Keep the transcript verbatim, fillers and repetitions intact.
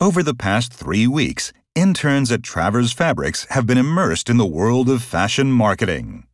Over the past three weeks, interns at Travers Fabrics have been immersed in the world of fashion marketing.